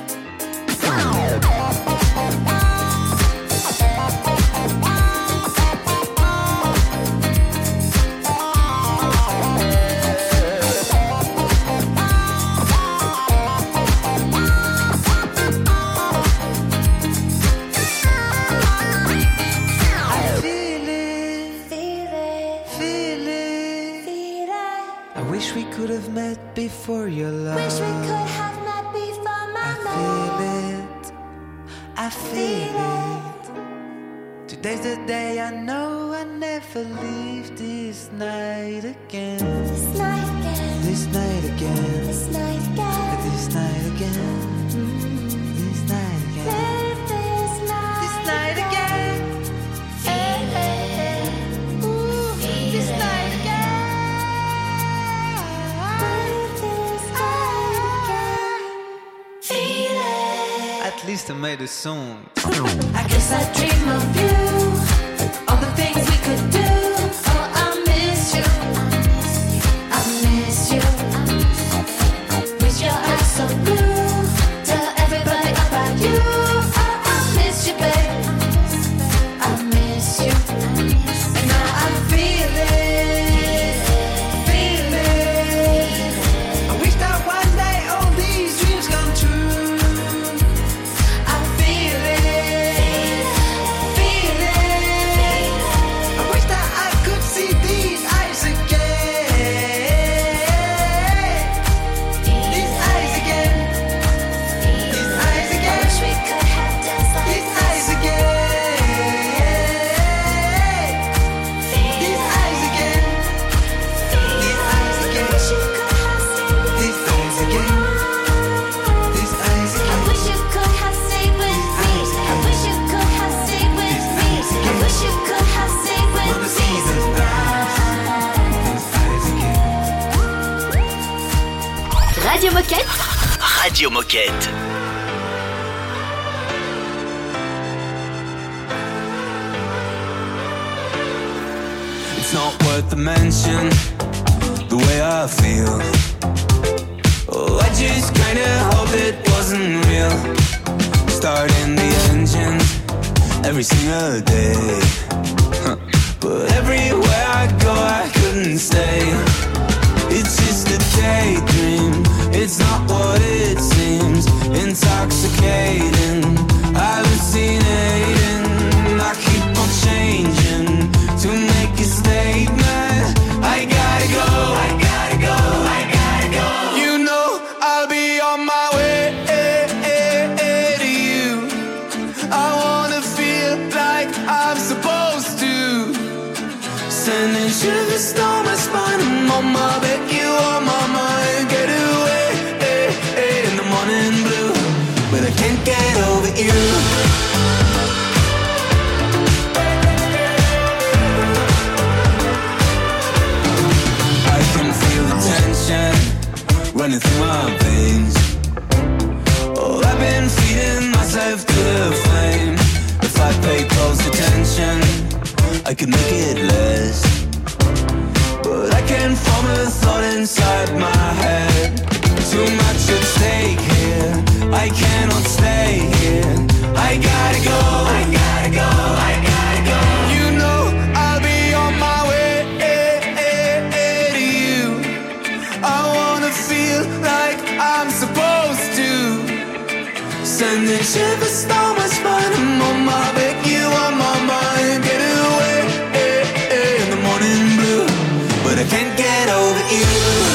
I wish we could have met before your love. Wish we could have met before my love. I feel it. Today's the day I know I never leave this night again. This night again. This night again. This night again. This night again. This night again. Live this night. This night again. Ooh, This night again. live this night again. Feel it. At least I made a song. I guess I dream of you. All the things we could do. Oh, I miss you. I miss you. With your eyes so blue. Tell everybody about you. Oh, I miss you, babe. I miss you. And now I feel Radio Moquette. It's not worth the mention, the way I feel. Oh, I just kinda hope it wasn't real. Starting the engine every single day. But everywhere I go, I couldn't stay. It's just a daydream, it's not what it seems. Intoxicating, hallucinating. I keep on changing to make a statement. I gotta go, I gotta go, I gotta go. You know I'll be on my way to you. I wanna feel like I'm supposed to. Sending shivers down my spine. I'm on my bed, you on my mind. Get away in the morning blue, but I can't get over you. Running through my veins. Oh, I've been feeding myself to the flame. If I pay close attention, I could make it less. But I can't form a thought inside my head. Too much at stake here, I cannot stay here. I gotta go, I gotta go, I gotta go. You know I'll be on my way to you. I wanna feel like I'm supposed to. Sending shivers down my spine. I'm on my bed, you on my mind. Get away in the morning blue, but I can't get over you.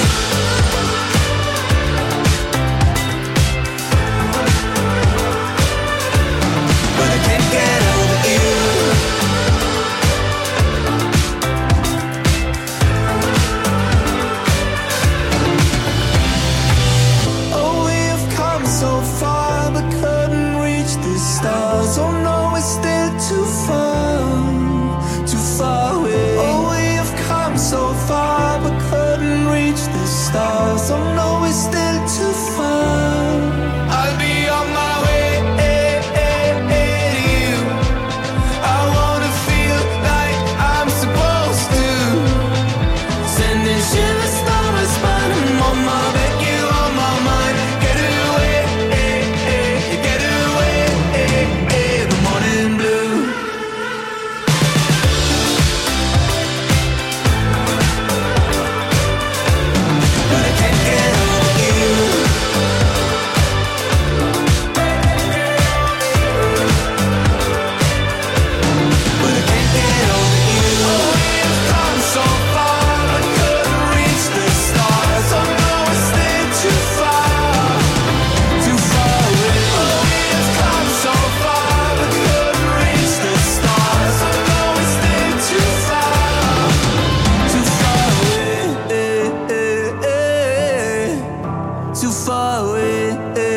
But I can't get over you. Oh, we've come so far, but couldn't reach the stars. Oh no, it's still too far away. Oh, we've come so far, but couldn't reach the stars. Oh no, it's still too far. I'll be on my way to you. I wanna feel like I'm supposed to. Sending shivers down my spine. I'm on my bed, you on my mind. Get away, the morning blue. But I can't get over you. But I can't get over you. Oh, we've come so far, but couldn't reach the stars. Oh no, it's still too far away. Oh, we've come so far, but couldn't reach the stars. Oh no, it's still too far away. Too far away.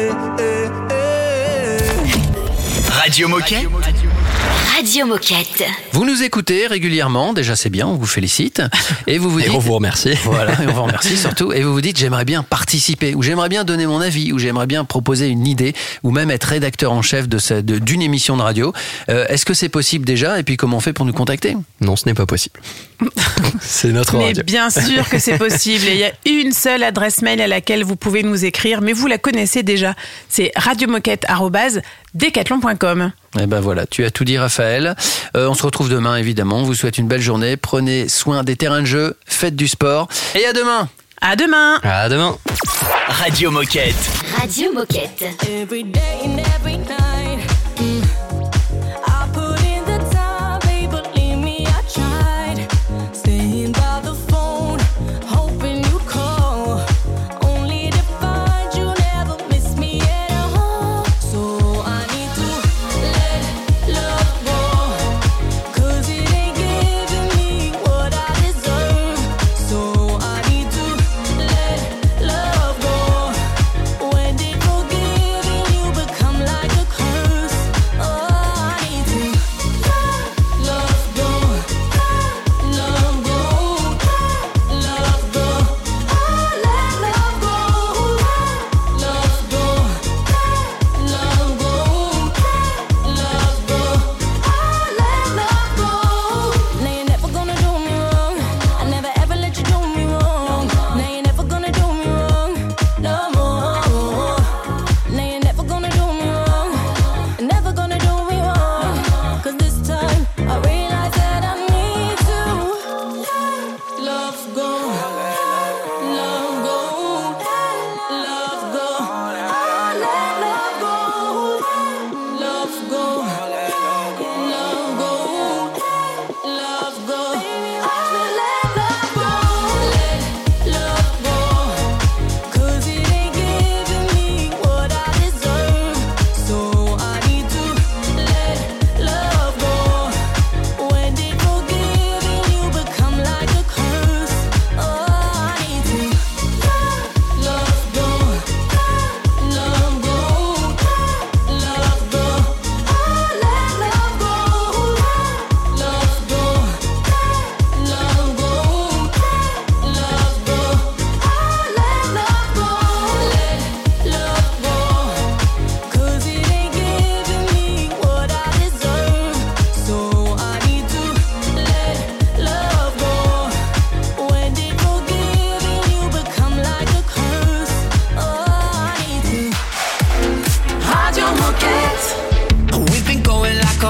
Radio Moquette. Radio Moquette. Vous nous écoutez régulièrement, déjà c'est bien, on vous félicite. Et vous vous dites, on vous remercie. Voilà, et on vous remercie surtout. Et vous vous dites, j'aimerais bien participer, ou j'aimerais bien donner mon avis, ou j'aimerais bien proposer une idée, ou même être rédacteur en chef d'une émission de radio. Est-ce que c'est possible déjà? Et puis comment on fait pour nous contacter? Non, ce n'est pas possible. C'est notre Mais radio. bien sûr que c'est possible. Et il y a une seule adresse mail à laquelle vous pouvez nous écrire, mais vous la connaissez déjà. C'est radiomoquette@decathlon.com. Et ben voilà, tu as tout dit, Raphaël. On se retrouve demain, évidemment. On vous souhaite une belle journée. Prenez soin des terrains de jeu, faites du sport. Et à demain. À demain. À demain. Radio Moquette. Radio Moquette. Every day and every night, I put in the time, babe, believe me, I tried. Staying by the phone, hoping you call, only to find you never miss me at all. So I need to let love go, 'cause it ain't giving me what I deserve. So I need to let love go. When did forgiving you become like a curse? Oh,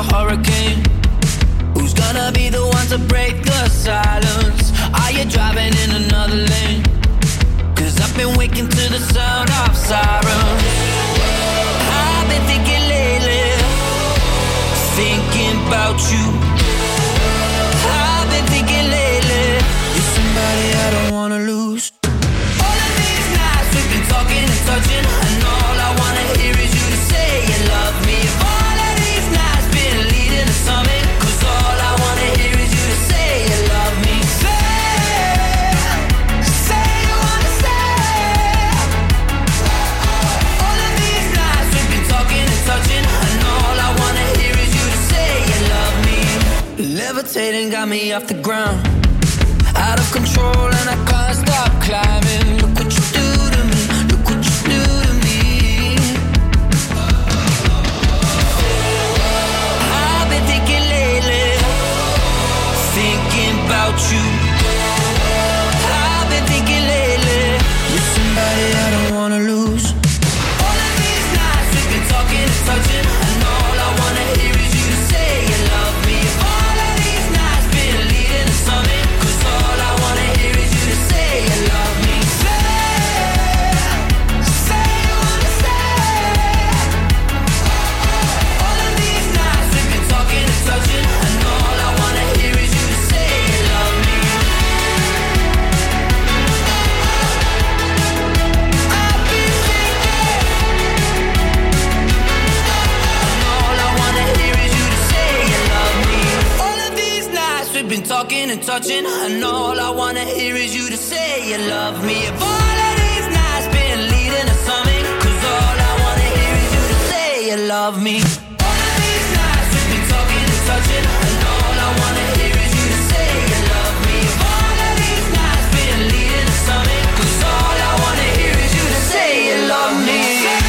hurricane? Who's gonna be the one to break the silence? Are you driving in another lane? 'Cause I've been waking to the sound of sirens. I've been thinking lately, thinking about you. I've been thinking lately, you're somebody I don't wanna lose. All of these nights we've been talking and touching, and all I wanna hear is you to say you love me. All of these nights been leading to something, 'cause all I wanna hear is you to say you love me. Say you wanna say. All of these nights we've been talking and touching, and all I wanna hear is you to say you love me. Levitating got me off the ground, out of control and I can't stop climbing. Look what you do to me, look what you do to me. I've been thinking lately, thinking about you. I've been thinking lately, you're somebody I don't wanna lose. All of these nights we've been talking and touching, and all I wanna hear is you to say you love me. All of these nights been leading to something, 'cause all I wanna hear is you to say you love me. Say you wanna say. All of these nights we've been talking and touching, and all I wanna hear is you to say you love me. I've been thinking, and all I wanna hear is you to say you love me. All of these nights we've been talking and touching, and all I wanna hear is you to say you love me. If all of these nights been leading to something, 'cause all I wanna hear is you to say you love me. All of these nights we've been talking and touching, and all I wanna hear is you to say you love me. If all of these nights been leading to something, 'cause all I wanna hear is you to say you love me.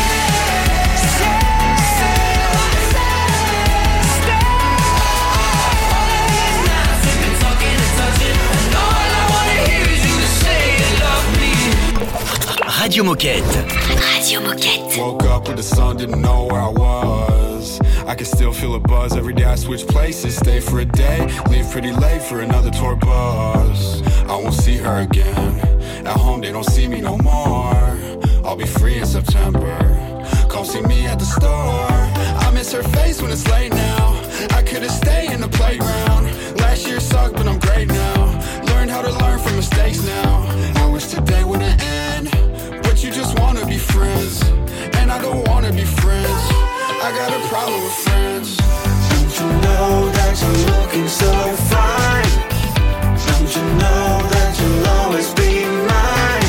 Radio Moquette. Radio Moquette. Woke up with the sun, didn't know where I was. I can still feel a buzz every day I switch places. Stay for a day, leave pretty late for another tour bus. I won't see her again. At home they don't see me no more. I'll be free in September. Come see me at the store. I miss her face when it's late now. I could've stayed in the playground. Last year sucked, but I'm great now. Learned how to learn from mistakes now. I wish today wouldn't end, but you just wanna be friends, and I don't wanna be friends. I got a problem with friends. Don't you know that you're looking so fine? Don't you know that you'll always be mine?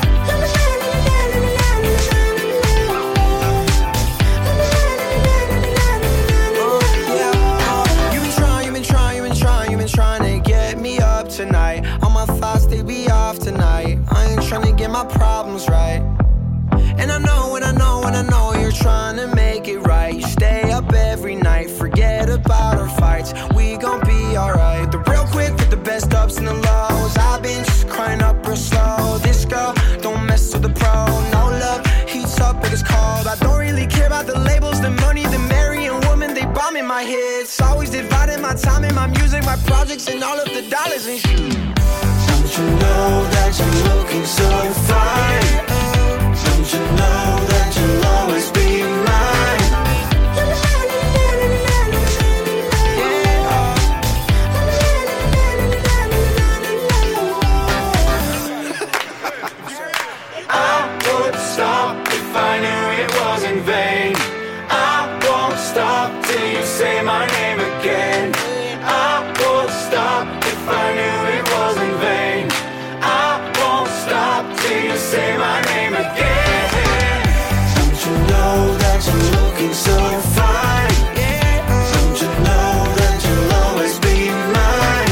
Trying to get me up tonight. All my thoughts, they be off tonight. I ain't trying to get my problems right. And I know, and I know, and I know you're trying to make it right. You stay up every night, forget about our fights. We gon' be alright. The real quick with the best ups and the lows. I've been just crying up real slow. This girl don't mess with the pro. No love, heats up but it's cold. I don't really care about the labels, the money, the marrying woman. They bomb in my head. It's always dividing my time and my music, my projects, and all of the dollars and shit. Don't you know that you're looking so fine? Don't you know that you'll always be mine? I would stop if I knew it was in vain. I won't stop till you say my name again. I would stop if I knew it was in vain. I won't stop till you say my name again. Don't you know that you're looking so fine? Don't you know that you'll always be mine?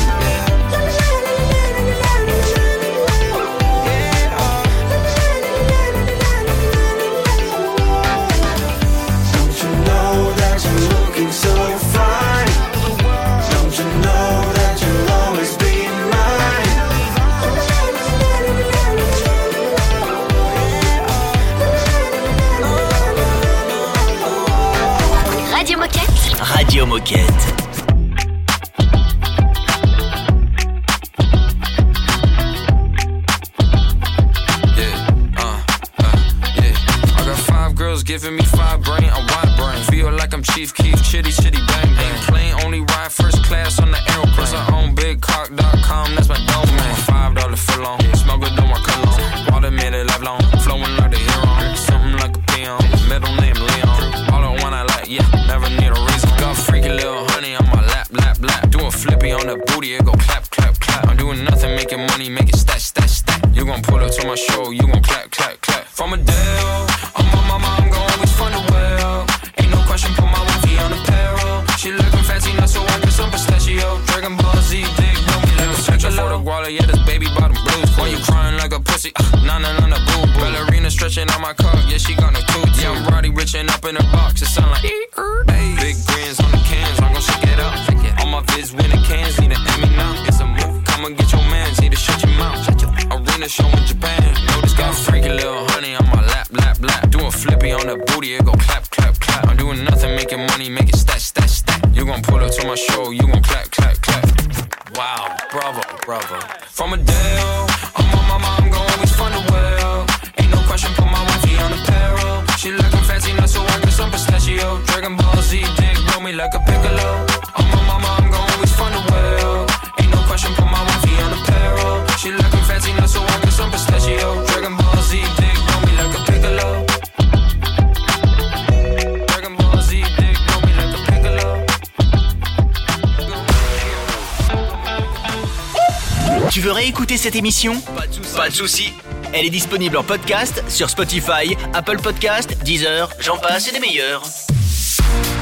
Radio Moquette. Girls giving me 5 brain, a wide brain. Feel like I'm Chief Keef, chitty, chitty, bang, bang. Plane only ride first class on the aeroplane. Plus I own bigcock.com, that's my domain. $5 for long, smell good on my cologne. Water made it life long, flowing like the hero. Something like a peon, middle name Leon. All the one I like, yeah, never need a reason. Got freaky little honey on my lap, lap, lap. Do a flippy on the booty, it go clap, clap, clap. I'm doing nothing, making money, make it stack, stack, stack. You gon' pull up to my show, you gon' clap, clap, clap. From a Dale, I'm gon' always find a well. Ain't no question, put my wifey on apparel. She lookin' fancy, not so I get some pistachio. Dragon Ball Z, dig, know me like a central for the guala, yeah, this baby bottom blues. Why you crying like a pussy? Nah, boo boo. Ballerina stretching on my cock, yeah, she got no tooth. Yeah, I'm Roddy richin' up in her box, it sound like hey. Big grins on the cans, I'm gon' shake it up. All my vids winning cans, need an Emmy now. It's a move, come and get your mans, need to shut your mouth. Arena show in Japan, know this got freaky little honey on my lap, lap, lap. Do a flippy on the booty, it go clap, clap, clap. I'm doing nothing, making money, make it stack, stack, stack. You gon' pull up to my show, you gon' clap, clap, clap. Wow, bravo, bravo. From a Dale, I'm gon' always find a well. Ain't no question, put my wifey on apparel. She lookin' fancy, not so I get some pistachio. Dragon Ball Z, dig, know me like a piccolo. I'm gon' always find a well. Ain't no question, put my wifey on apparel. She lookin' fancy, not so I get some pistachio. Dragon Ball Z, dig, know me like a piccolo. Dragon Ball Z, dig, know me like a piccolo. Tu veux réécouter cette émission ? Pas de souci. Elle est disponible en podcast sur Spotify, Apple Podcast, Deezer, j'en passe et des meilleurs.